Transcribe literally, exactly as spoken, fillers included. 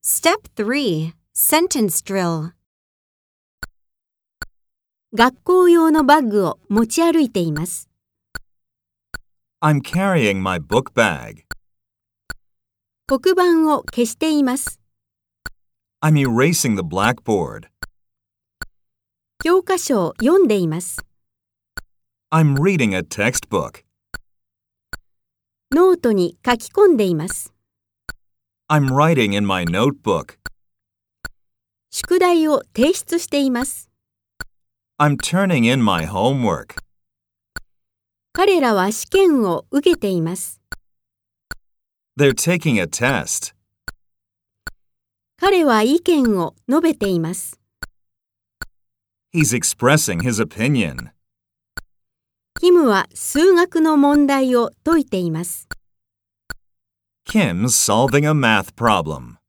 Step three. Sentence drill. 学校用のバッグを持ち歩いています。 I'm carrying my book bag. 黒板を消しています。 I'm erasing the blackboard. 教科書を読んでいます。 I'm reading a textbook. ノートに書き込んでいます。 I'm writing in my notebook. 宿題を提出しています。 I'm turning in my homework. 彼らは試験を受けています。 They're taking a test. 彼は意見を述べています。 He's expressing his opinion. キムは数学の問題を解いています。 Kim's solving a math problem.